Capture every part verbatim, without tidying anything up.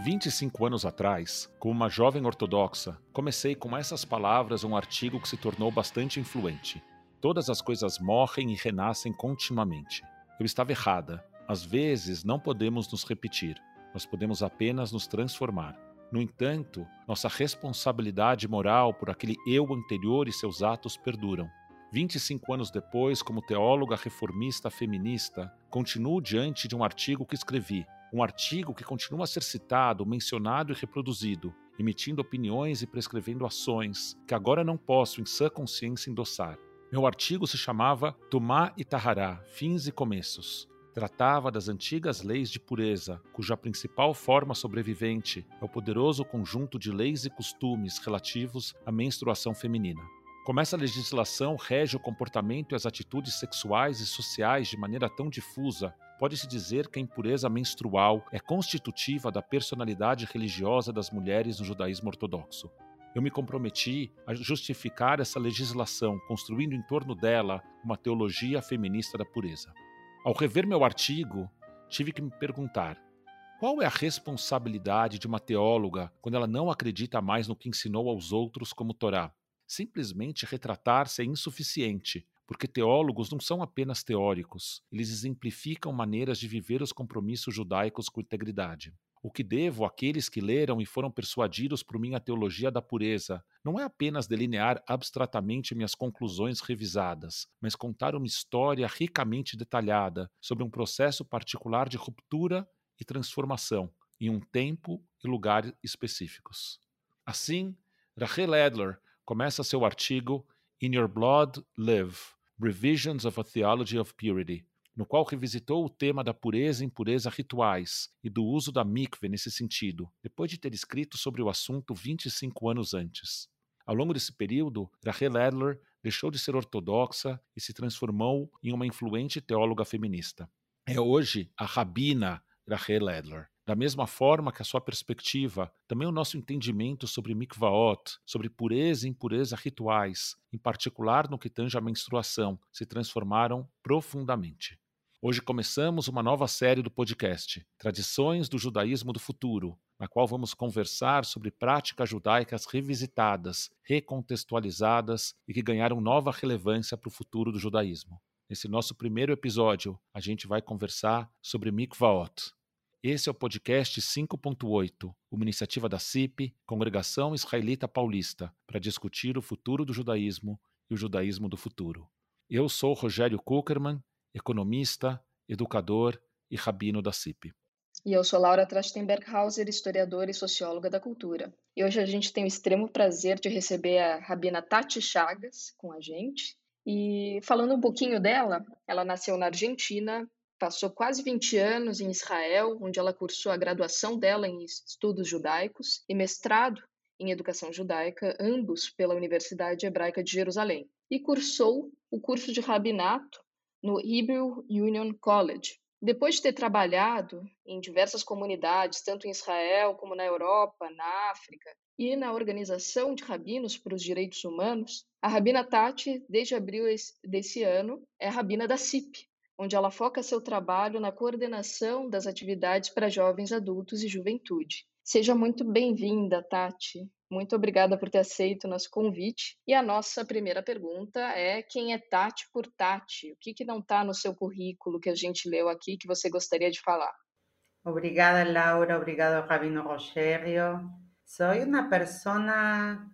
vinte e cinco anos atrás, como uma jovem ortodoxa, comecei com essas palavras um artigo que se tornou bastante influente. Todas as coisas morrem e renascem continuamente. Eu estava errada. Às vezes não podemos nos repetir. Nós podemos apenas nos transformar. No entanto, nossa responsabilidade moral por aquele eu anterior e seus atos perduram. vinte e cinco anos depois, como teóloga reformista feminista, continuo diante de um artigo que escrevi. Um artigo que continua a ser citado, mencionado e reproduzido, emitindo opiniões e prescrevendo ações que agora não posso, em sã consciência, endossar. Meu artigo se chamava Tumá e Tahará, Fins e Começos. Tratava das antigas leis de pureza, cuja principal forma sobrevivente é o poderoso conjunto de leis e costumes relativos à menstruação feminina. Como essa legislação rege o comportamento e as atitudes sexuais e sociais de maneira tão difusa, pode-se dizer que a impureza menstrual é constitutiva da personalidade religiosa das mulheres no judaísmo ortodoxo. Eu me comprometi a justificar essa legislação, construindo em torno dela uma teologia feminista da pureza. Ao rever meu artigo, tive que me perguntar: qual é a responsabilidade de uma teóloga quando ela não acredita mais no que ensinou aos outros como Torá? Simplesmente retratar-se é insuficiente, porque teólogos não são apenas teóricos, eles exemplificam maneiras de viver os compromissos judaicos com integridade. O que devo àqueles que leram e foram persuadidos por minha teologia da pureza não é apenas delinear abstratamente minhas conclusões revisadas, mas contar uma história ricamente detalhada sobre um processo particular de ruptura e transformação em um tempo e lugar específicos. Assim, Rachel Adler começa seu artigo In Your Blood Live, Revisions of a Theology of Purity, no qual revisitou o tema da pureza e impureza rituais e do uso da mikve nesse sentido, depois de ter escrito sobre o assunto vinte e cinco anos antes. Ao longo desse período, Rachel Adler deixou de ser ortodoxa e se transformou em uma influente teóloga feminista. É hoje a rabina Rachel Adler. Da mesma forma que a sua perspectiva, também o nosso entendimento sobre mikvaot, sobre pureza e impureza rituais, em particular no que tange à menstruação, se transformaram profundamente. Hoje começamos uma nova série do podcast, Tradições do Judaísmo do Futuro, na qual vamos conversar sobre práticas judaicas revisitadas, recontextualizadas e que ganharam nova relevância para o futuro do judaísmo. Nesse nosso primeiro episódio, a gente vai conversar sobre mikvaot. Esse é o podcast cinco ponto oito, uma iniciativa da C I P, Congregação Israelita Paulista, para discutir o futuro do judaísmo e o judaísmo do futuro. Eu sou Rogério Kuckerman, economista, educador e rabino da C I P. E eu sou Laura Trachtenberg-Hauser, historiadora e socióloga da cultura. E hoje a gente tem o extremo prazer de receber a rabina Tati Chagas com a gente. E falando um pouquinho dela, ela nasceu na Argentina, passou quase vinte anos em Israel, onde ela cursou a graduação dela em estudos judaicos e mestrado em educação judaica, ambos pela Universidade Hebraica de Jerusalém. E cursou o curso de rabinato no Hebrew Union College. Depois de ter trabalhado em diversas comunidades, tanto em Israel como na Europa, na África, e na Organização de Rabinos para os Direitos Humanos, a rabina Tati, desde abril desse ano, é a rabina da C I P, onde ela foca seu trabalho na coordenação das atividades para jovens adultos e juventude. Seja muito bem-vinda, Tati. Muito obrigada por ter aceito o nosso convite. E a nossa primeira pergunta é: quem é Tati por Tati? O que, que não está no seu currículo que a gente leu aqui que você gostaria de falar? Obrigada, Laura. Obrigado, Rabino Rogério. Soy una persona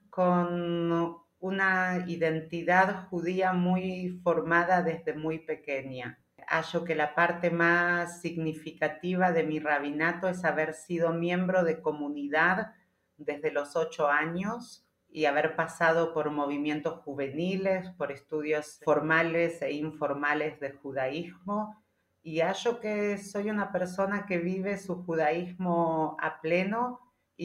con una identidad judía muy formada desde muy pequeña. Hallo que la parte más significativa de mi rabinato es haber sido miembro de comunidad desde los ocho años y haber pasado por movimientos juveniles, por estudios formales e informales de judaísmo, y hallo que soy una persona que vive su judaísmo a pleno y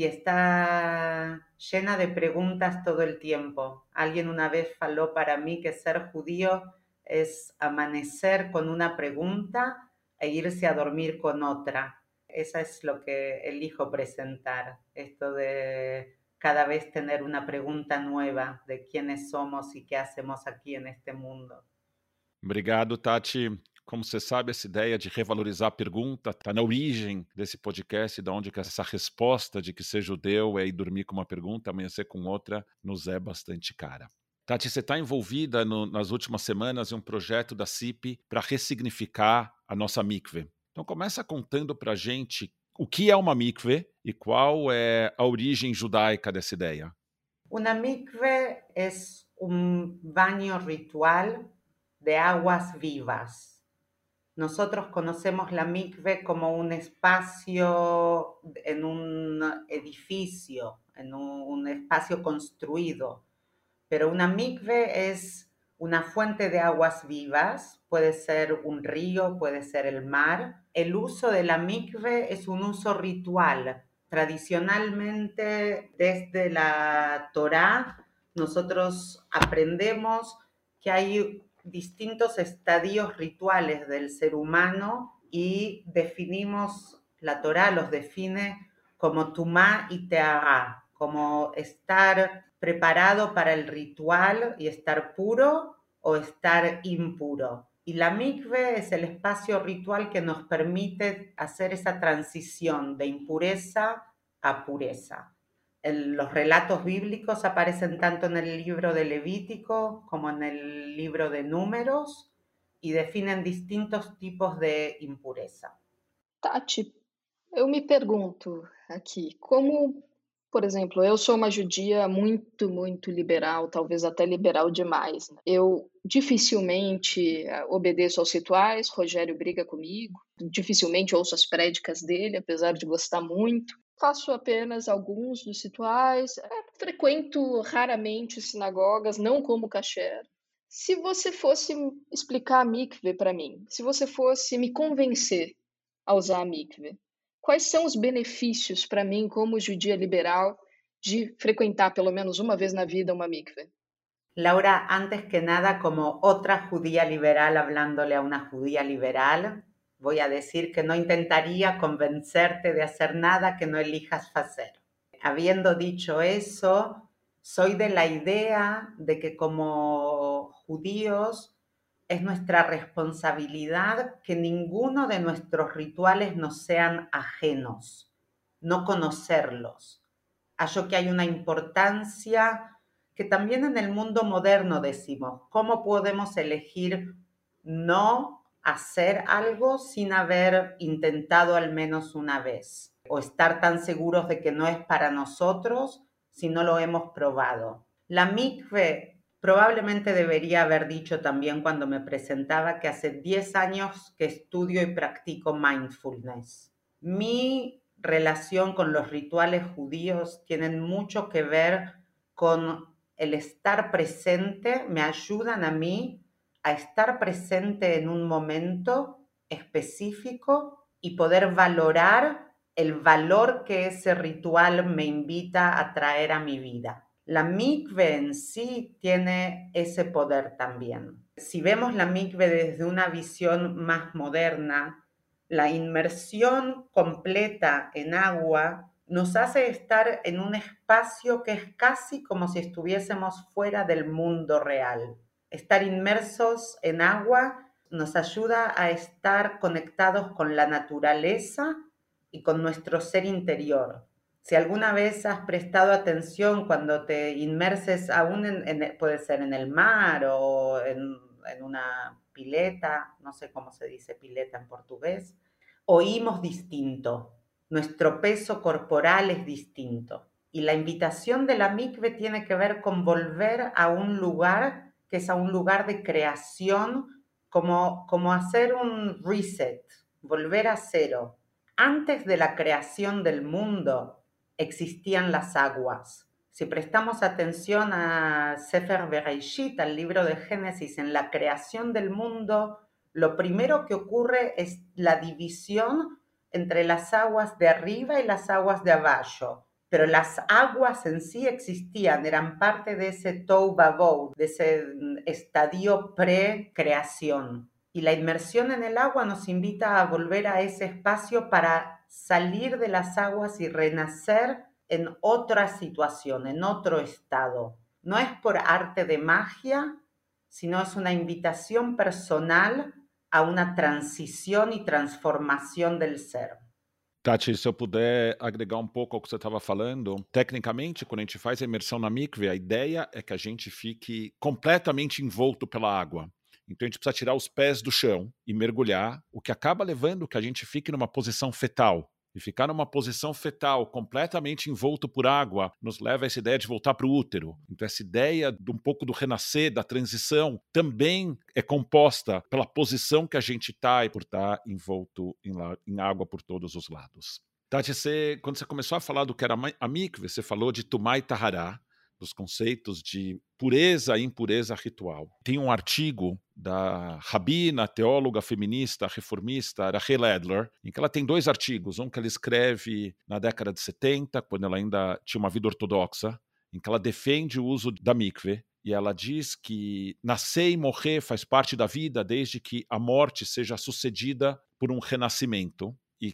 está llena de preguntas todo el tiempo. Alguien una vez faló para mí que ser judío es amanecer con una pregunta e irse a dormir con otra. Eso es lo que elijo presentar, esto de cada vez tener una pregunta nueva de quiénes somos y qué hacemos aquí en este mundo. Obrigado, Tati. Como você sabe, essa ideia de revalorizar a pergunta está na origem desse podcast, de onde que essa resposta de que ser judeu é ir dormir com uma pergunta, amanhecer com outra, nos é bastante cara. Tati, você está envolvida no, nas últimas semanas em um projeto da C I P para ressignificar a nossa mikve. Então começa contando para a gente o que é uma mikve e qual é a origem judaica dessa ideia. Una mikve es un baño ritual de aguas vivas. Nosotros conocemos la mikve como un espacio en un edificio, en un espacio construido, pero una mikve es una fuente de aguas vivas, puede ser un río, puede ser el mar. El uso de la mikve es un uso ritual. Tradicionalmente, desde la Torá, nosotros aprendemos que hay distintos estadios rituales del ser humano y definimos, la Torá los define como tumá y tehará, como estar preparado para el ritual y estar puro o estar impuro. Y la mikve es el espacio ritual que nos permite hacer esa transición de impureza a pureza. El, los relatos bíblicos aparecen tanto en el libro de Levítico como en el libro de Números y definen distintos tipos de impureza. Tati, eu me pergunto aqui, como, por exemplo, eu sou uma judia muito, muito liberal, talvez até liberal demais. Né? Eu dificilmente obedeço aos rituais, Rogério briga comigo, dificilmente ouço as prédicas dele, apesar de gostar muito. Faço apenas alguns dos rituais, é, frequento raramente sinagogas, não como kasher. Se você fosse explicar a mikve para mim, se você fosse me convencer a usar a mikve, quais são os benefícios para mim, como judia liberal, de frecuentar pelo menos uma vez na vida uma mikve? Laura, antes que nada, como otra judía liberal hablándole a una judía liberal, voy a decir que no intentaría convencerte de hacer nada que no elijas hacer. Habiendo dicho eso, soy de la idea de que como judíos es nuestra responsabilidad que ninguno de nuestros rituales nos sean ajenos, no conocerlos. Hallo que hay una importancia que también en el mundo moderno decimos, ¿cómo podemos elegir no hacer algo sin haber intentado al menos una vez? O estar tan seguros de que no es para nosotros si no lo hemos probado. La mikve, probablemente debería haber dicho también cuando me presentaba que hace diez años que estudio y practico mindfulness. Mi relación con los rituales judíos tienen mucho que ver con el estar presente, me ayudan a mí a estar presente en un momento específico y poder valorar el valor que ese ritual me invita a traer a mi vida. La mikve en sí tiene ese poder también. Si vemos la mikve desde una visión más moderna, la inmersión completa en agua nos hace estar en un espacio que es casi como si estuviésemos fuera del mundo real. Estar inmersos en agua nos ayuda a estar conectados con la naturaleza y con nuestro ser interior. Si alguna vez has prestado atención cuando te inmerses, aún en, en, puede ser en el mar o en, en una pileta, no sé cómo se dice pileta en portugués, oímos distinto. Nuestro peso corporal es distinto. Y la invitación de la mikve tiene que ver con volver a un lugar que es a un lugar de creación, como, como hacer un reset, volver a cero. Antes de la creación del mundo existían las aguas. Si prestamos atención a Sefer Bereshit, al libro de Génesis, en la creación del mundo, lo primero que ocurre es la división entre las aguas de arriba y las aguas de abajo. Pero las aguas en sí existían, eran parte de ese tohu vavohu, de ese estadio pre-creación. Y la inmersión en el agua nos invita a volver a ese espacio para salir de las aguas y renacer en otra situación, en otro estado. No es por arte de magia, sino es una invitación personal a una transición y transformación del ser. Tati, se eu puder agregar um pouco ao que você estava falando, tecnicamente, quando a gente faz a imersão na mikve, a ideia é que a gente fique completamente envolto pela água. Então a gente precisa tirar os pés do chão e mergulhar, o que acaba levando que a gente fique numa posição fetal. E ficar numa posição fetal, completamente envolto por água, nos leva a essa ideia de voltar para o útero. Então essa ideia de um pouco do renascer, da transição, também é composta pela posição que a gente está e por estar envolto em, la- em água por todos os lados. Tati, você, quando você começou a falar do que era ma- a mikve, você falou de Tumá e Tahará, dos conceitos de pureza e impureza ritual. Tem um artigo da rabina, teóloga feminista, reformista, Rachel Adler, em que ela tem dois artigos, um que ela escreve na década de setenta, quando ela ainda tinha uma vida ortodoxa, em que ela defende o uso da mikve, e ela diz que nascer e morrer faz parte da vida desde que a morte seja sucedida por um renascimento, e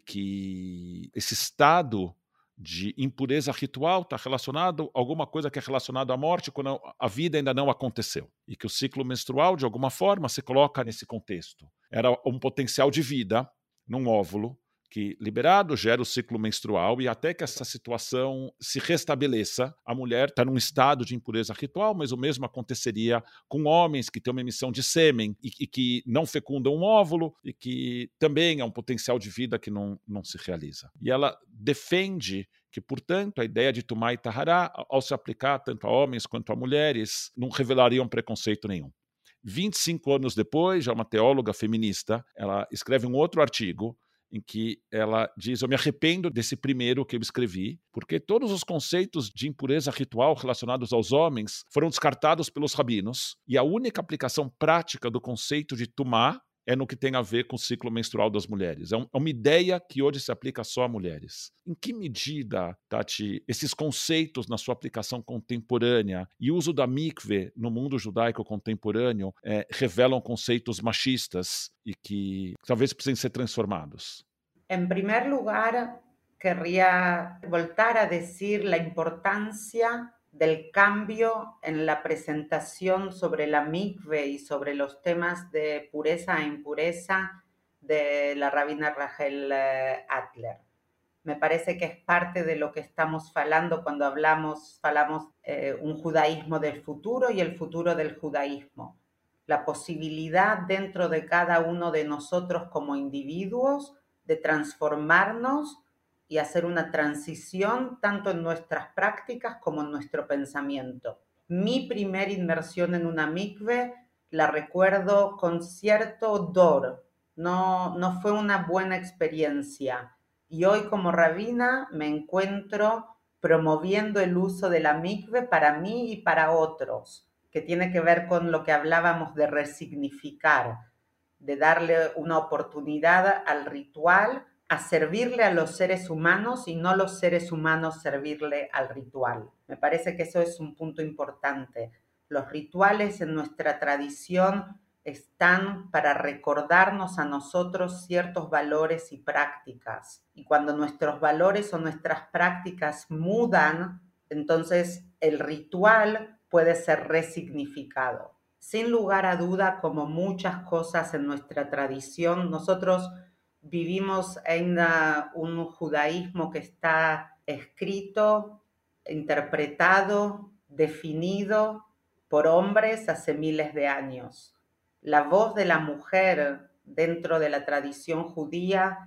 que esse estado de impureza ritual está relacionado a alguma coisa que é relacionado à morte quando a vida ainda não aconteceu. E que o ciclo menstrual, de alguma forma, se coloca nesse contexto. Era um potencial de vida num óvulo que, liberado, gera o ciclo menstrual e até que essa situação se restabeleça, a mulher está num estado de impureza ritual, mas o mesmo aconteceria com homens que têm uma emissão de sêmen e, e que não fecundam um óvulo e que também é um potencial de vida que não, não se realiza. E ela defende que, portanto, a ideia de Tumá e Tahará, ao se aplicar tanto a homens quanto a mulheres, não revelariam preconceito nenhum. vinte e cinco anos depois, já uma teóloga feminista, ela escreve um outro artigo em que ela diz: eu me arrependo desse primeiro que eu escrevi, porque todos os conceitos de impureza ritual relacionados aos homens foram descartados pelos rabinos, e a única aplicação prática do conceito de Tumá é no que tem a ver com o ciclo menstrual das mulheres. É, um, é uma ideia que hoje se aplica só a mulheres. Em que medida, Tati, esses conceitos na sua aplicação contemporânea e o uso da mikve no mundo judaico contemporâneo é, revelam conceitos machistas e que talvez precisem ser transformados? En primer lugar, querría voltar a decir la importancia del cambio en la presentación sobre la mikve y sobre los temas de pureza e impureza de la rabina Rachel Adler. Me parece que es parte de lo que estamos hablando cuando hablamos, hablamos eh, un judaísmo del futuro y el futuro del judaísmo. La posibilidad dentro de cada uno de nosotros como individuos de transformarnos y hacer una transición tanto en nuestras prácticas como en nuestro pensamiento. Mi primera inmersión en una mikve la recuerdo con cierto dolor, no, no fue una buena experiencia. Y hoy como rabina me encuentro promoviendo el uso de la mikve para mí y para otros, que tiene que ver con lo que hablábamos de resignificar, de darle una oportunidad al ritual, a servirle a los seres humanos y no los seres humanos servirle al ritual. Me parece que eso es un punto importante. Los rituales en nuestra tradición están para recordarnos a nosotros ciertos valores y prácticas. Y cuando nuestros valores o nuestras prácticas mudan, entonces el ritual puede ser resignificado. Sin lugar a duda, como muchas cosas en nuestra tradición, nosotros vivimos en una, un judaísmo que está escrito, interpretado, definido por hombres hace miles de años. La voz de la mujer dentro de la tradición judía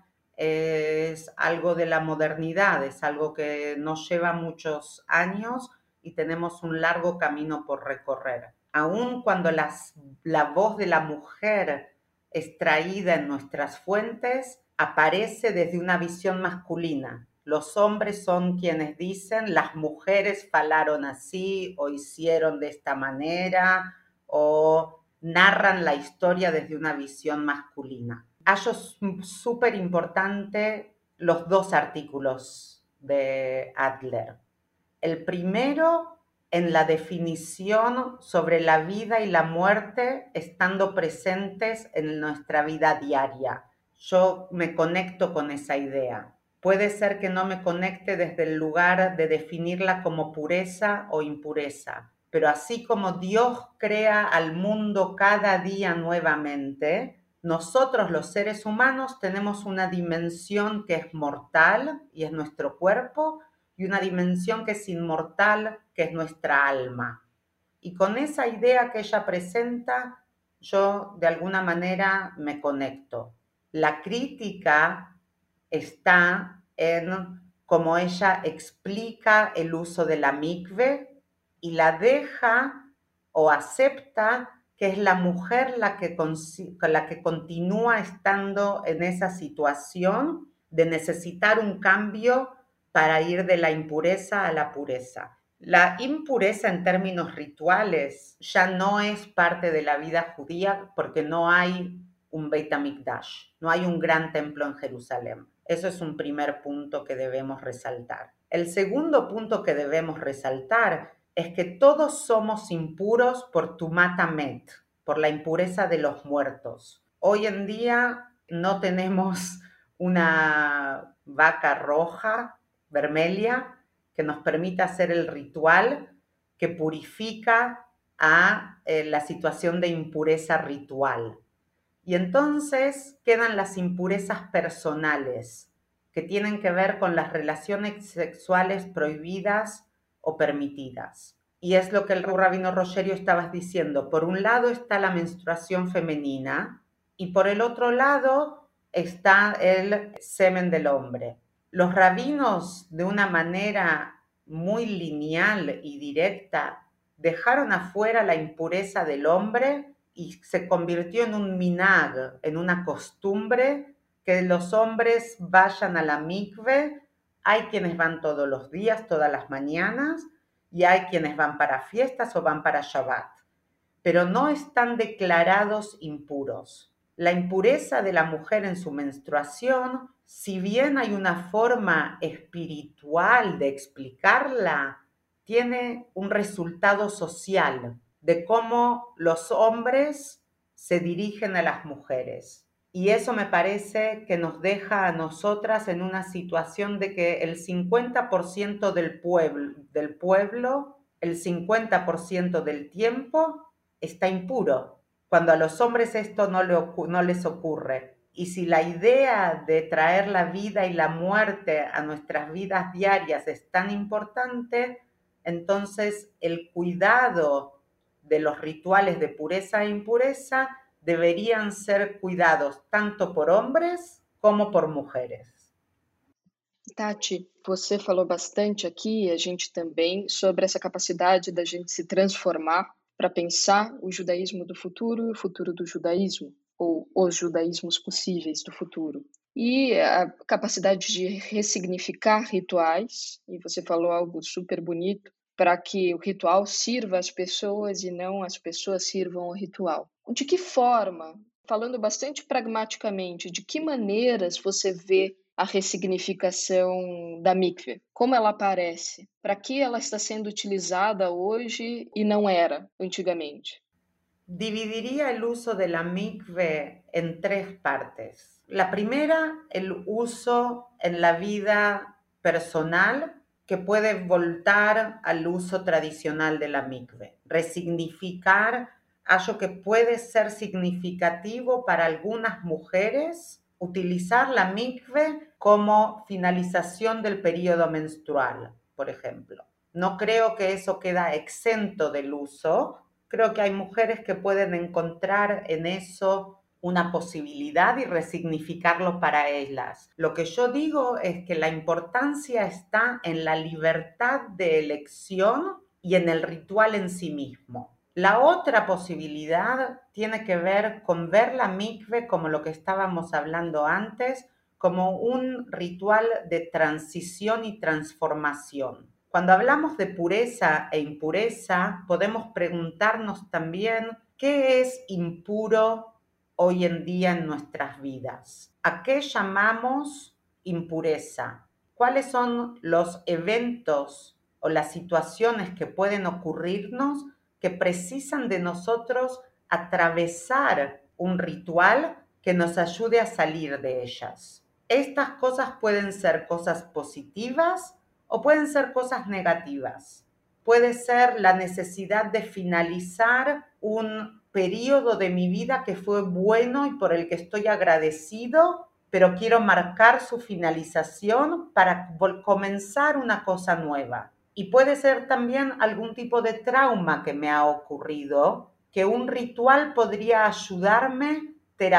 es algo de la modernidad, es algo que nos lleva muchos años y tenemos un largo camino por recorrer. Aun cuando las, la voz de la mujer extraída en nuestras fuentes aparece desde una visión masculina. Los hombres son quienes dicen, las mujeres falaron así o hicieron de esta manera o narran la historia desde una visión masculina. Hallo súper importante los dos artículos de Adler. El primero, en la definición sobre la vida y la muerte estando presentes en nuestra vida diaria. Yo me conecto con esa idea. Puede ser que no me conecte desde el lugar de definirla como pureza o impureza, pero así como Dios crea al mundo cada día nuevamente, nosotros los seres humanos tenemos una dimensión que es mortal y es nuestro cuerpo, y una dimensión que es inmortal, que es nuestra alma. Y con esa idea que ella presenta, yo de alguna manera me conecto. La crítica está en cómo ella explica el uso de la mikve y la deja o acepta que es la mujer la que, la que continúa estando en esa situación de necesitar un cambio para ir de la impureza a la pureza. La impureza en términos rituales ya no es parte de la vida judía porque no hay un Beit HaMikdash, no hay un gran templo en Jerusalén. Eso es un primer punto que debemos resaltar. El segundo punto que debemos resaltar es que todos somos impuros por Tumat Hamet, por la impureza de los muertos. Hoy en día no tenemos una vaca roja, vermelha, que nos permita hacer el ritual que purifica a eh, la situación de impureza ritual. Y entonces quedan las impurezas personales, que tienen que ver con las relaciones sexuales prohibidas o permitidas. Y es lo que el rabino Rogerio estabas diciendo. Por un lado está la menstruación femenina y por el otro lado está el semen del hombre. Los rabinos, de una manera muy lineal y directa, dejaron afuera la impureza del hombre y se convirtió en un minhag, en una costumbre, que los hombres vayan a la mikve. Hay quienes van todos los días, todas las mañanas, y hay quienes van para fiestas o van para Shabbat, pero no están declarados impuros. La impureza de la mujer en su menstruación, si bien hay una forma espiritual de explicarla, tiene un resultado social de cómo los hombres se dirigen a las mujeres. Y eso me parece que nos deja a nosotras en una situación de que el cincuenta por ciento del pueblo, del pueblo, el cincuenta por ciento del tiempo está impuro, cuando a los hombres esto no, le, no les ocurre. Y si la idea de traer la vida y la muerte a nuestras vidas diarias es tan importante, entonces el cuidado de los rituales de pureza e impureza deverían ser cuidados tanto por hombres como por mujeres. Tati, você falou bastante aqui, a gente também, sobre essa capacidade da gente se transformar para pensar o judaísmo do futuro e o futuro do judaísmo, ou os judaísmos possíveis do futuro. E a capacidade de ressignificar rituais, e você falou algo super bonito, para que o ritual sirva às pessoas e não as pessoas sirvam ao ritual. De que forma, falando bastante pragmaticamente, de que maneiras você vê a ressignificação da mikve? Como ela aparece? Para que ela está sendo utilizada hoje e não era antigamente? Dividiría el uso de la mikve en tres partes. La primera, el uso en la vida personal, que puede voltar al uso tradicional de la mikve, resignificar algo que puede ser significativo para algunas mujeres, utilizar la mikve como finalización del periodo menstrual, por ejemplo. No creo que eso queda exento del uso. Creo que hay mujeres que pueden encontrar en eso una posibilidad y resignificarlo para ellas. Lo que yo digo es que la importancia está en la libertad de elección y en el ritual en sí mismo. La otra posibilidad tiene que ver con ver la mikve como lo que estábamos hablando antes, como un ritual de transición y transformación. Cuando hablamos de pureza e impureza, podemos preguntarnos también qué es impuro hoy en día en nuestras vidas. ¿A qué llamamos impureza? ¿Cuáles son los eventos o las situaciones que pueden ocurrirnos que precisan de nosotros atravesar un ritual que nos ayude a salir de ellas? Estas cosas pueden ser cosas positivas o pueden ser cosas negativas. Puede ser la necesidad de finalizar un periodo de mi vida que fue bueno y por el que estoy agradecido, pero quiero marcar su finalización para comenzar una cosa nueva. Y puede ser también algún tipo de trauma que me ha ocurrido, que un ritual podría ayudarme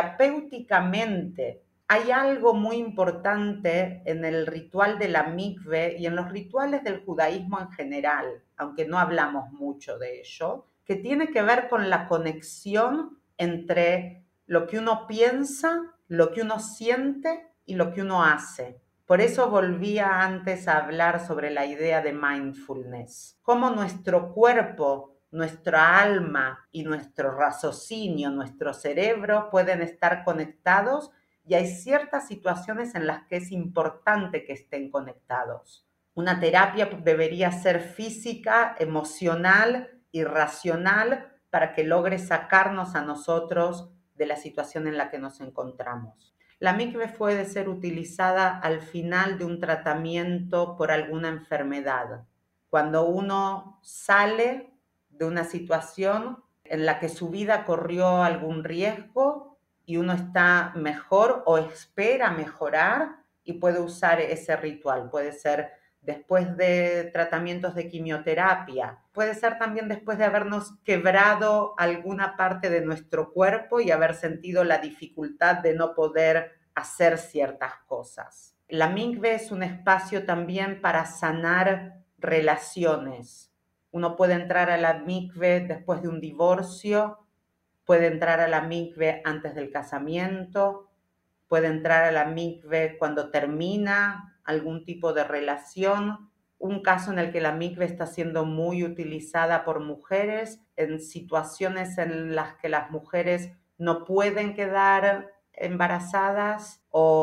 terapéuticamente. Hay algo muy importante en el ritual de la mikve y en los rituales del judaísmo en general, aunque no hablamos mucho de ello, que tiene que ver con la conexión entre lo que uno piensa, lo que uno siente y lo que uno hace. Por eso volvía antes a hablar sobre la idea de mindfulness. Cómo nuestro cuerpo, nuestra alma y nuestro raciocinio, nuestro cerebro pueden estar conectados y hay ciertas situaciones en las que es importante que estén conectados. Una terapia debería ser física, emocional y racional para que logre sacarnos a nosotros de la situación en la que nos encontramos. La mikve puede ser utilizada al final de un tratamiento por alguna enfermedad. Cuando uno sale de una situación en la que su vida corrió algún riesgo y uno está mejor o espera mejorar y puede usar ese ritual. Puede ser después de tratamientos de quimioterapia, puede ser también después de habernos quebrado alguna parte de nuestro cuerpo y haber sentido la dificultad de no poder hacer ciertas cosas. La mikve es un espacio también para sanar relaciones. Uno puede entrar a la mikve después de un divorcio, puede entrar a la mikve antes del casamiento, puede entrar a la mikve cuando termina algún tipo de relación. Un caso en el que la mikve está siendo muy utilizada por mujeres en situaciones en las que las mujeres no pueden quedar embarazadas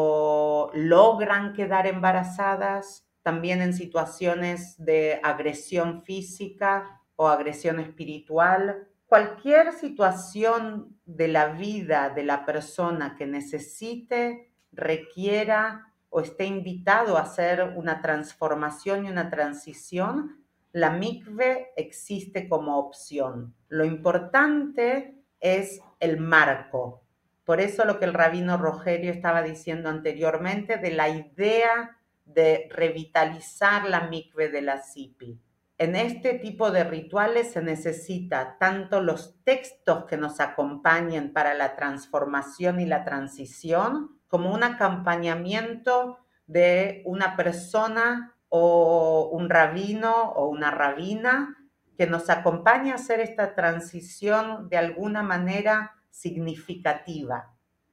o logran quedar embarazadas, también en situaciones de agresión física o agresión espiritual. Cualquier situación de la vida de la persona que necesite, requiera o esté invitado a hacer una transformación y una transición, la mikve existe como opción. Lo importante es el marco. Por eso lo que el rabino Rogerio estaba diciendo anteriormente de la idea de revitalizar la mikve de la S I P I. En este tipo de rituales se necesita tanto los textos que nos acompañen para la transformación y la transición, como un acompañamiento de una persona o un rabino o una rabina que nos acompañe a hacer esta transición de alguna manera significativa.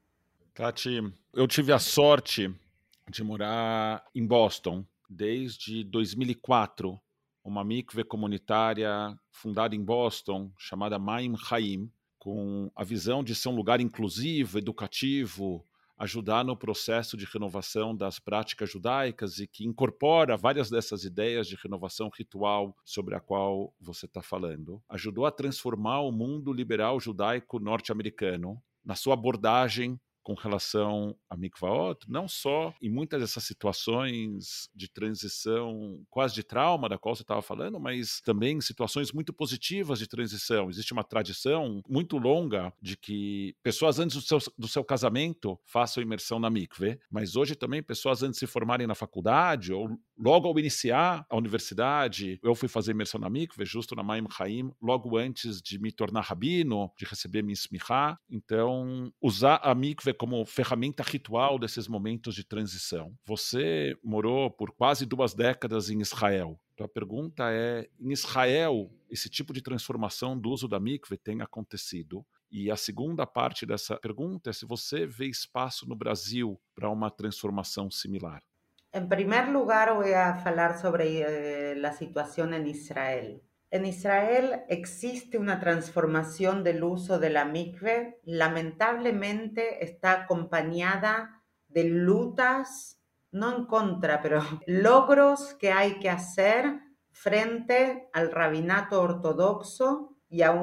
Tati, eu tive a sorte de morar em Boston desde dois mil e quatro, uma mikve comunitária fundada em Boston, chamada Maim Haim, com a visão de ser um lugar inclusivo, educativo, ajudar no processo de renovação das práticas judaicas e que incorpora várias dessas ideias de renovação ritual sobre a qual você está falando. Ajudou a transformar o mundo liberal judaico norte-americano na sua abordagem com relação a mikvaot, não só em muitas dessas situações de transição, quase de trauma, da qual você estava falando, mas também em situações muito positivas de transição. Existe uma tradição muito longa de que pessoas antes do seu, do seu casamento façam imersão na mikve, mas hoje também pessoas antes de se formarem na faculdade ou logo ao iniciar a universidade, eu fui fazer imersão na mikve, justo na Maim Haim, logo antes de me tornar rabino, de receber minha smichá. Então, usar a mikve como ferramenta ritual desses momentos de transição. Você morou por quase duas décadas em Israel. Então a pergunta é, em Israel, esse tipo de transformação do uso da mikve tem acontecido? E a segunda parte dessa pergunta é se você vê espaço no Brasil para uma transformação similar. En primer lugar, voy a hablar sobre eh, la situación en Israel. En Israel existe una transformación del uso de la mikve. Lamentablemente está acompañada de lutas, no en contra, pero logros que hay que hacer frente al rabinato ortodoxo y a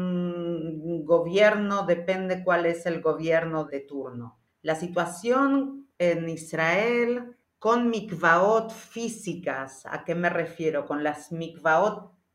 un gobierno, depende cuál es el gobierno de turno. La situación en Israel con mikvaot físicas, ¿a qué me refiero? Con las mikvaot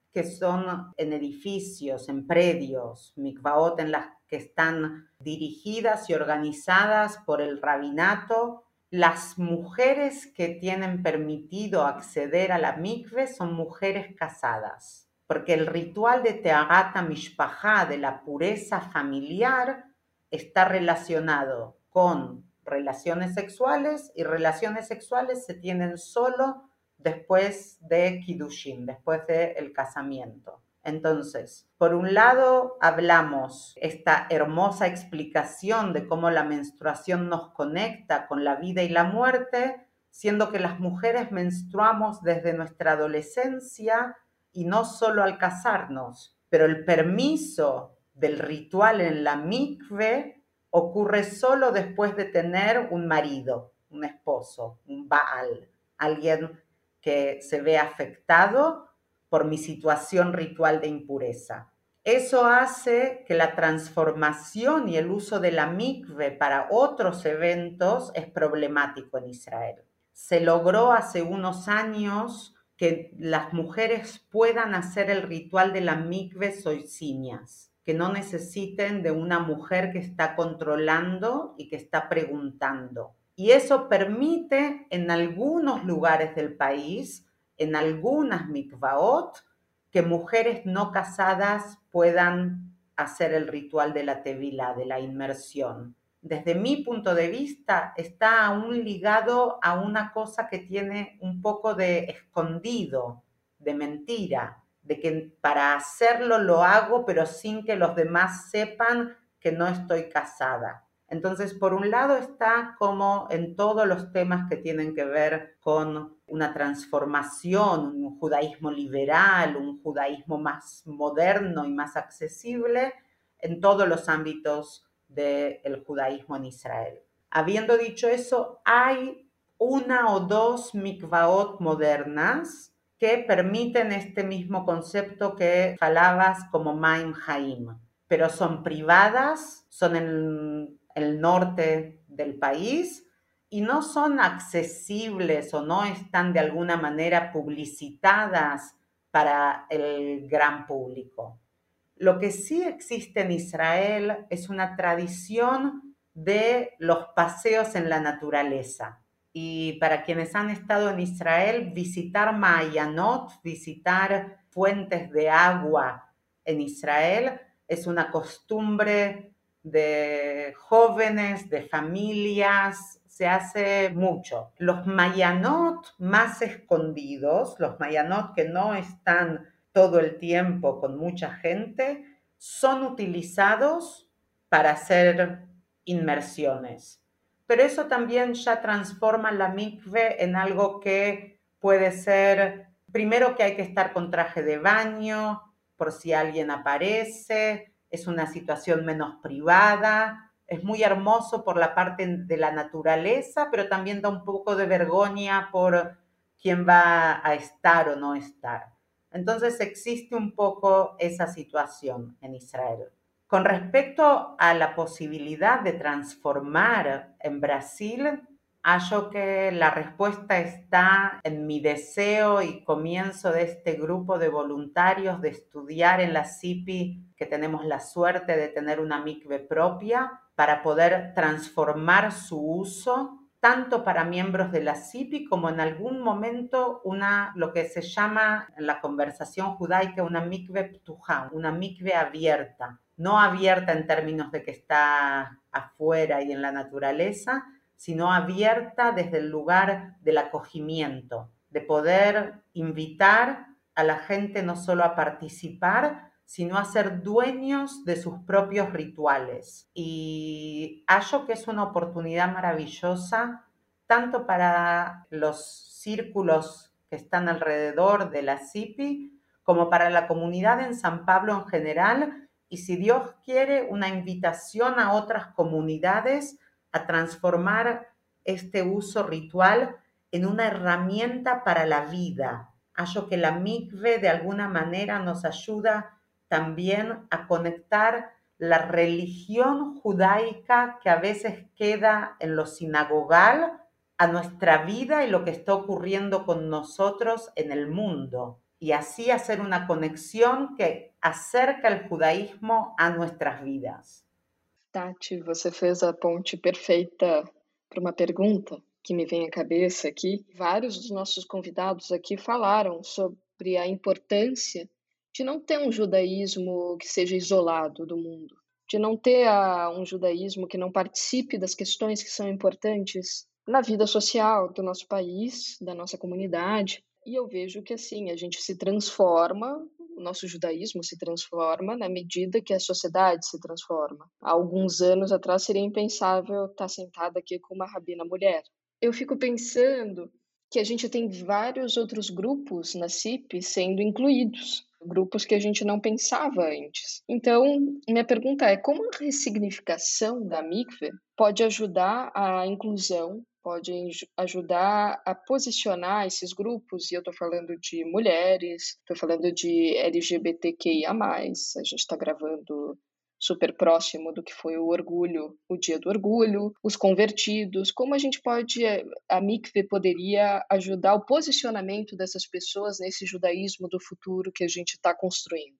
que son en edificios, en predios, mikvaot en las que están dirigidas y organizadas por el rabinato. Las mujeres que tienen permitido acceder a la mikve son mujeres casadas, porque el ritual de Teharat HaMishpachá, de la pureza familiar, está relacionado con relaciones sexuales, y relaciones sexuales se tienen solo después de Kiddushin, después del casamiento. Entonces, por un lado, hablamos esta hermosa explicación de cómo la menstruación nos conecta con la vida y la muerte, siendo que las mujeres menstruamos desde nuestra adolescencia y no solo al casarnos, pero el permiso del ritual en la mikve ocurre solo después de tener un marido, un esposo, un baal, alguien que se ve afectado por mi situación ritual de impureza. Eso hace que la transformación y el uso de la mikve para otros eventos es problemático en Israel. Se logró hace unos años que las mujeres puedan hacer el ritual de la mikve soiciñas, que no necesiten de una mujer que está controlando y que está preguntando. Y eso permite en algunos lugares del país, en algunas mikvaot, que mujeres no casadas puedan hacer el ritual de la tevilá, de la inmersión. Desde mi punto de vista, está aún ligado a una cosa que tiene un poco de escondido, de mentira, de que para hacerlo lo hago, pero sin que los demás sepan que no estoy casada. Entonces, por un lado está como en todos los temas que tienen que ver con una transformación, un judaísmo liberal, un judaísmo más moderno y más accesible en todos los ámbitos del judaísmo en Israel. Habiendo dicho eso, hay una o dos mikvaot modernas que permiten este mismo concepto que falabas como Maim Haim, pero son privadas, son en el norte del país y no son accesibles o no están de alguna manera publicitadas para el gran público. Lo que sí existe en Israel es una tradición de los paseos en la naturaleza. Y para quienes han estado en Israel, visitar Ma'ayanot, visitar fuentes de agua en Israel, es una costumbre de jóvenes, de familias, se hace mucho. Los Ma'ayanot más escondidos, los Ma'ayanot que no están todo el tiempo con mucha gente, son utilizados para hacer inmersiones. Pero eso también ya transforma la mikve en algo que puede ser, primero que hay que estar con traje de baño, por si alguien aparece, es una situación menos privada, es muy hermoso por la parte de la naturaleza, pero también da un poco de vergüenza por quién va a estar o no estar. Entonces existe un poco esa situación en Israel. Con respecto a la posibilidad de transformar en Brasil, hallo que la respuesta está en mi deseo y comienzo de este grupo de voluntarios de estudiar en la C I P I, que tenemos la suerte de tener una mikve propia, para poder transformar su uso tanto para miembros de la C I P I como en algún momento una, lo que se llama en la conversación judaica una mikve ptujá, una mikve abierta. No abierta en términos de que está afuera y en la naturaleza, sino abierta desde el lugar del acogimiento, de poder invitar a la gente no solo a participar, sino a ser dueños de sus propios rituales. Y hallo que es una oportunidad maravillosa, tanto para los círculos que están alrededor de la C I P I, como para la comunidad en San Pablo en general, y si Dios quiere, una invitación a otras comunidades a transformar este uso ritual en una herramienta para la vida. Hallo que la mikve de alguna manera nos ayuda también a conectar la religión judaica que a veces queda en lo sinagogal a nuestra vida y lo que está ocurriendo con nosotros en el mundo. y así hacer una conexión que acerca el judaísmo a nuestras vidas. Tati, você fez a ponte perfeita para uma pergunta que me vem à cabeça aqui. Vários dos nossos convidados aqui falaram sobre a importância de não ter um judaísmo que seja isolado do mundo, de não ter a, um judaísmo que não participe das questões que são importantes na vida social do nosso país, da nossa comunidade. E eu vejo que assim, a gente se transforma, o nosso judaísmo se transforma na medida que a sociedade se transforma. Há alguns anos atrás seria impensável estar sentada aqui com uma rabina mulher. Eu fico pensando que a gente tem vários outros grupos na C I P sendo incluídos, grupos que a gente não pensava antes. Então, minha pergunta é, como a ressignificação da mikve pode ajudar a inclusão, pode ajudar a posicionar esses grupos, e eu estou falando de mulheres, estou falando de L G B T Q I A mais, a gente está gravando super próximo do que foi o orgulho, o dia do orgulho, os convertidos, como a gente pode, a mikve poderia ajudar o posicionamento dessas pessoas nesse judaísmo do futuro que a gente está construindo?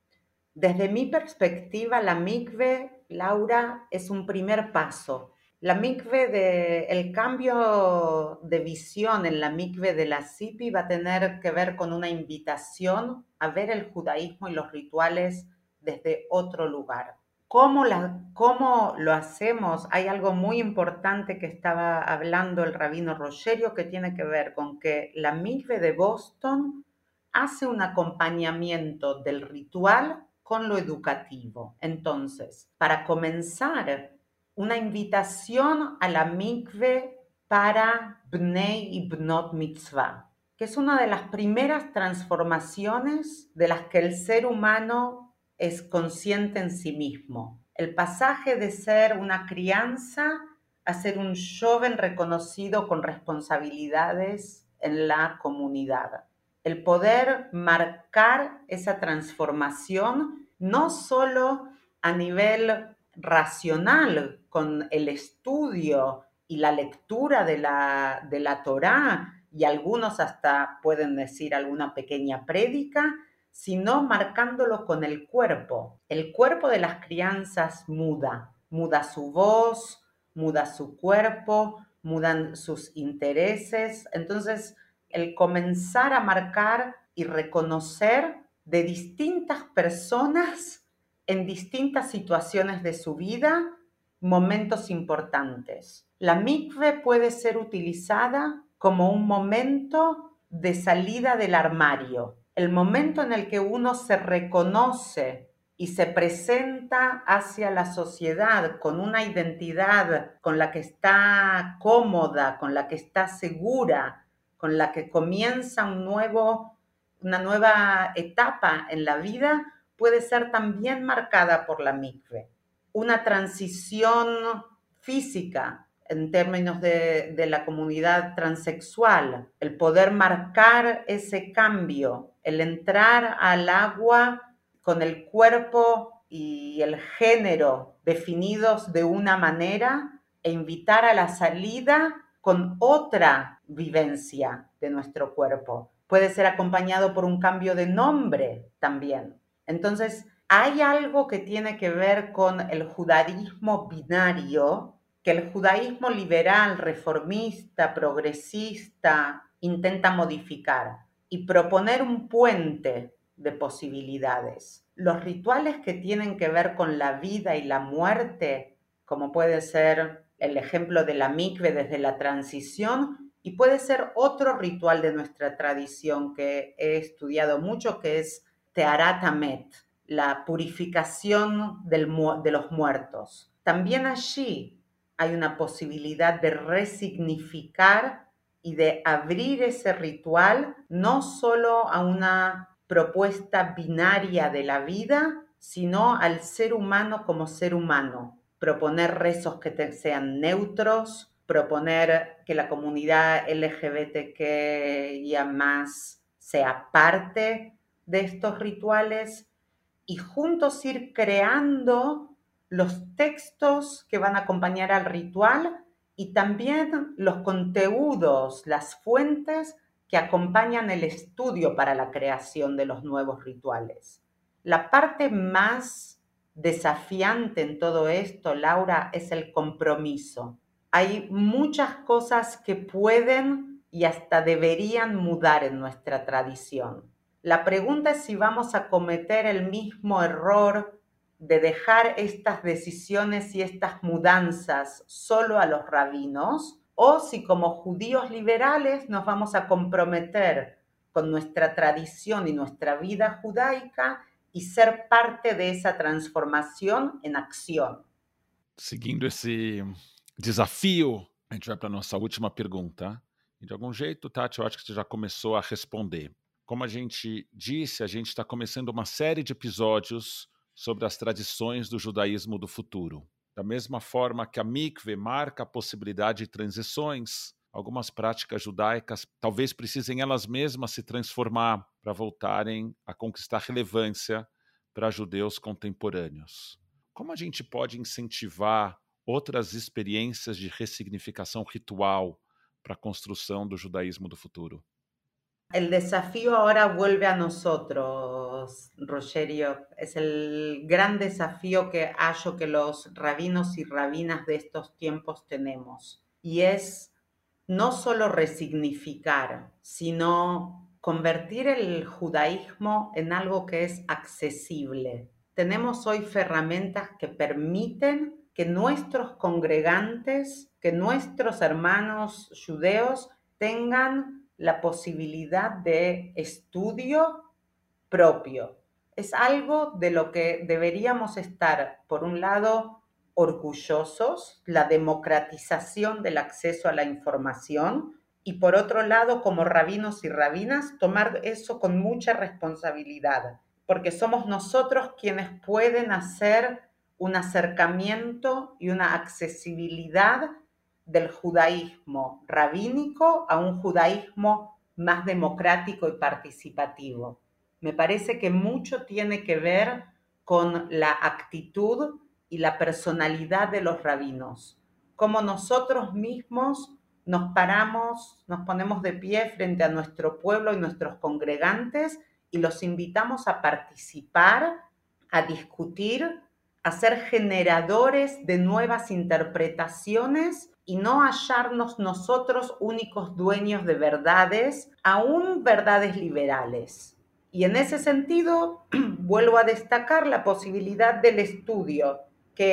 Desde mi perspectiva, la mikve, Laura, es un primer paso. La mikve, de, el cambio de visión en la mikve de la C I P I va a tener que ver con una invitación a ver el judaísmo y los rituales desde otro lugar. ¿Cómo, la, ¿Cómo lo hacemos? Hay algo muy importante que estaba hablando el rabino Rogerio que tiene que ver con que la mikve de Boston hace un acompañamiento del ritual con lo educativo. Entonces, para comenzar, una invitación a la mikve para Bnei y Bnot Mitzvah, que es una de las primeras transformaciones de las que el ser humano es consciente en sí mismo. El pasaje de ser una crianza a ser un joven reconocido con responsabilidades en la comunidad. El poder marcar esa transformación no solo a nivel racional, con el estudio y la lectura de la, de la Torá, y algunos hasta pueden decir alguna pequeña prédica, sino marcándolo con el cuerpo. El cuerpo de las crianzas muda, muda su voz, muda su cuerpo, mudan sus intereses. Entonces, el comenzar a marcar y reconocer de distintas personas en distintas situaciones de su vida momentos importantes. La mikve puede ser utilizada como un momento de salida del armario, el momento en el que uno se reconoce y se presenta hacia la sociedad con una identidad con la que está cómoda, con la que está segura, con la que comienza un nuevo, una nueva etapa en la vida, puede ser también marcada por la mikve. Una transición física en términos de, de la comunidad transexual, el poder marcar ese cambio, el entrar al agua con el cuerpo y el género definidos de una manera e invitar a la salida con otra vivencia de nuestro cuerpo. Puede ser acompañado por un cambio de nombre también. Entonces, hay algo que tiene que ver con el judaísmo binario, que el judaísmo liberal, reformista, progresista, intenta modificar y proponer un puente de posibilidades. Los rituales que tienen que ver con la vida y la muerte, como puede ser el ejemplo de la mikve desde la transición, y puede ser otro ritual de nuestra tradición que he estudiado mucho, que es Teharat Hamet, la purificación del, de los muertos. También allí hay una posibilidad de resignificar y de abrir ese ritual no solo a una propuesta binaria de la vida, sino al ser humano como ser humano. Proponer rezos que te, sean neutros, proponer que la comunidad L G B T Q I A más sea parte de estos rituales y juntos ir creando los textos que van a acompañar al ritual y también los contenidos, las fuentes que acompañan el estudio para la creación de los nuevos rituales. La parte más desafiante en todo esto, Laura, es el compromiso. Hay muchas cosas que pueden y hasta deberían mudar en nuestra tradición. La pregunta es si vamos a cometer el mismo error de dejar estas decisiones y estas mudanzas solo a los rabinos, o si como judíos liberales nos vamos a comprometer con nuestra tradición y nuestra vida judaica e ser parte de essa transformação em ação. Seguindo esse desafio, a gente vai para a nossa última pergunta. E de algum jeito, Tati, eu acho que você já começou a responder. Como a gente disse, a gente está começando uma série de episódios sobre as tradições do judaísmo do futuro. Da mesma forma que a mikve marca a possibilidade de transições, algumas práticas judaicas talvez precisem elas mesmas se transformar para voltarem a conquistar relevância para judeus contemporâneos. Como a gente pode incentivar outras experiências de ressignificação ritual para a construção do judaísmo do futuro? El desafío ahora vuelve a nosotros, Rogerio. Es el gran desafío que hallo que los rabinos y rabinas de estos tiempos tenemos. Y es no solo resignificar, sino convertir el judaísmo en algo que es accesible. Tenemos hoy herramientas que permiten que nuestros congregantes, que nuestros hermanos judeos tengan la posibilidad de estudio propio. Es algo de lo que deberíamos estar, por un lado, orgullosos, la democratización del acceso a la información, y por otro lado, como rabinos y rabinas, tomar eso con mucha responsabilidad, porque somos nosotros quienes pueden hacer un acercamiento y una accesibilidad del judaísmo rabínico a un judaísmo más democrático y participativo. Me parece que mucho tiene que ver con la actitud y la personalidad de los rabinos, cómo nosotros mismos nos paramos, nos ponemos de pie frente a nuestro pueblo y nuestros congregantes y los invitamos a participar, a discutir, a ser generadores de nuevas interpretaciones y no hallarnos nosotros únicos dueños de verdades, aún verdades liberales. Y en ese sentido, vuelvo a destacar la posibilidad del estudio,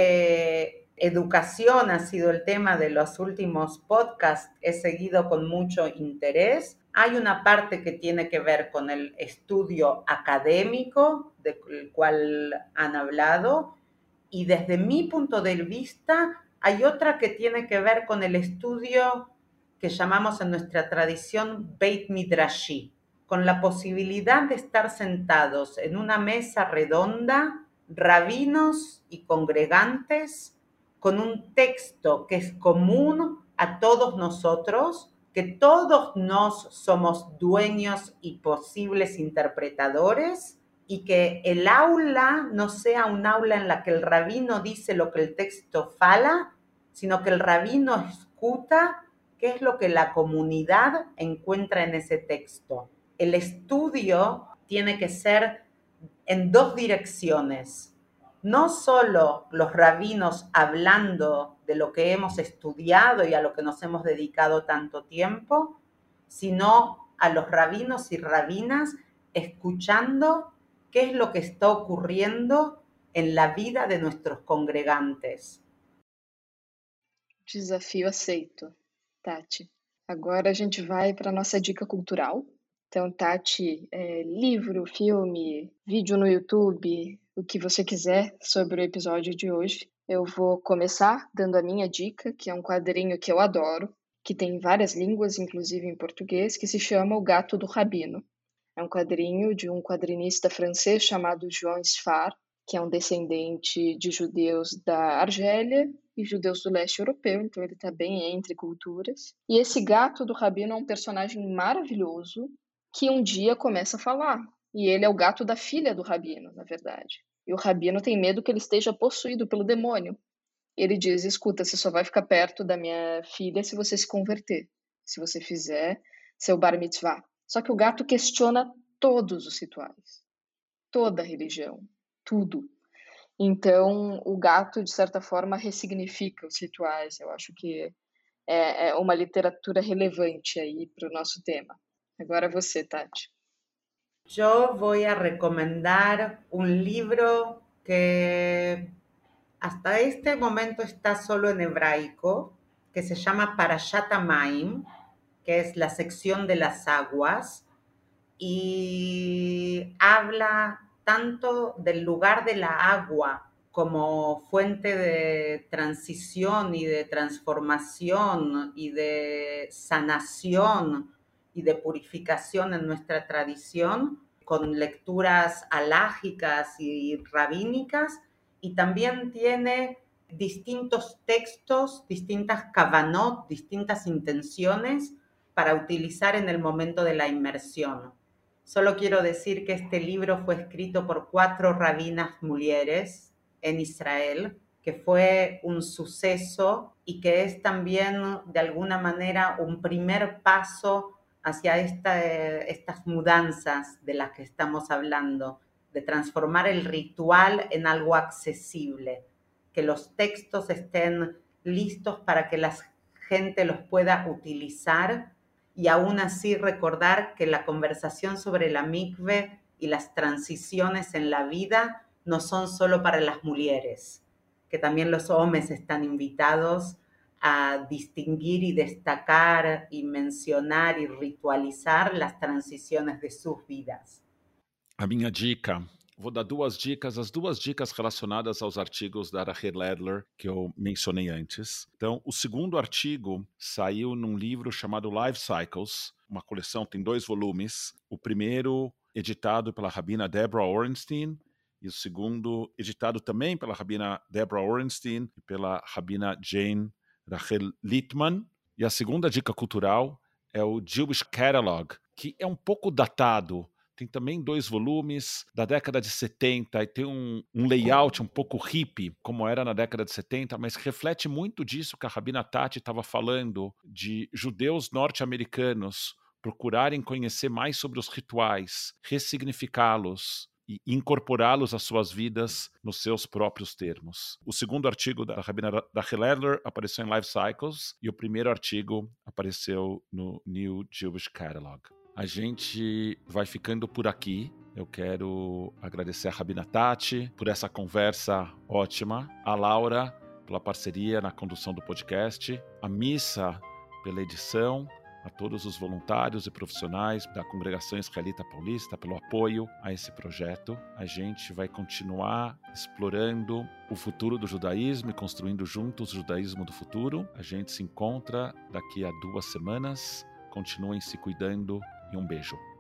que educación ha sido el tema de los últimos podcasts, he seguido con mucho interés. Hay una parte que tiene que ver con el estudio académico, del cual han hablado, y desde mi punto de vista hay otra que tiene que ver con el estudio que llamamos en nuestra tradición Beit Midrashi, con la posibilidad de estar sentados en una mesa redonda, rabinos y congregantes, con un texto que es común a todos nosotros, que todos nos somos dueños y posibles interpretadores, y que el aula no sea un aula en la que el rabino dice lo que el texto fala, sino que el rabino escucha qué es lo que la comunidad encuentra en ese texto. El estudio tiene que ser en dos direcciones. No solo los rabinos hablando de lo que hemos estudiado y a lo que nos hemos dedicado tanto tiempo, sino a los rabinos y rabinas escuchando qué es lo que está ocurriendo en la vida de nuestros congregantes. Desafio aceito, Tati. Agora a gente vai para a nossa dica cultural. Então, Tati, é, livro, filme, vídeo no YouTube, o que você quiser sobre o episódio de hoje. Eu vou começar dando a minha dica, que é um quadrinho que eu adoro, que tem várias línguas, inclusive em português, que se chama O Gato do Rabino. É um quadrinho de um quadrinista francês chamado João Sfar, que é um descendente de judeus da Argélia e judeus do leste europeu, então ele está bem entre culturas. E esse gato do Rabino é um personagem maravilhoso que um dia começa a falar. E ele é o gato da filha do Rabino, na verdade. E o Rabino tem medo que ele esteja possuído pelo demônio. Ele diz, escuta, você só vai ficar perto da minha filha se você se converter, se você fizer seu bar mitzvah. Só que o gato questiona todos os rituais, toda a religião, tudo. Então, o gato, de certa forma, ressignifica os rituais. Eu acho que é, é uma literatura relevante aí para o nosso tema. Agora você, Tati. Yo voy a recomendar un libro que hasta este momento está solo en hebraico, que se llama Parashat Hamayim, que es la sección de las aguas, y habla tanto del lugar de la agua como fuente de transición y de transformación y de sanación y de purificación en nuestra tradición, con lecturas alágicas y rabínicas, y también tiene distintos textos, distintas kavanot, distintas intenciones para utilizar en el momento de la inmersión. Solo quiero decir que este libro fue escrito por cuatro rabinas mujeres en Israel, que fue un suceso y que es también de alguna manera un primer paso hacia esta, estas mudanzas de las que estamos hablando, de transformar el ritual en algo accesible, que los textos estén listos para que la gente los pueda utilizar y aún así recordar que la conversación sobre la mikve y las transiciones en la vida no son solo para las mujeres, que también los hombres están invitados a distinguir y destacar y mencionar y ritualizar las transiciones de sus vidas. A minha dica, vou dar duas dicas, as duas dicas relacionadas aos artigos da Rachel Ledler que eu mencionei antes. Então, o segundo artigo saiu num livro chamado Life Cycles, uma coleção, tem dois volumes. O primeiro editado pela rabina Deborah Orenstein e o segundo editado também pela rabina Deborah Orenstein e pela rabina Jane Rachel Littman. E a segunda dica cultural é o Jewish Catalog, que é um pouco datado. Tem também dois volumes da década de setenta e tem um, um layout um pouco hippie, como era na década de setenta, mas reflete muito disso que a Rabina Tati estava falando, de judeus norte-americanos procurarem conhecer mais sobre os rituais, ressignificá-los e incorporá-los às suas vidas nos seus próprios termos. O segundo artigo da Rabina Rachel Ledler apareceu em Life Cycles e o primeiro artigo apareceu no New Jewish Catalog. A gente vai ficando por aqui. Eu quero agradecer a Rabina Tati por essa conversa ótima, a Laura pela parceria na condução do podcast, a Missa pela edição, a todos os voluntários e profissionais da Congregação Israelita Paulista pelo apoio a esse projeto. A gente vai continuar explorando o futuro do judaísmo e construindo juntos o judaísmo do futuro. A gente se encontra daqui a duas semanas. Continuem se cuidando e um beijo.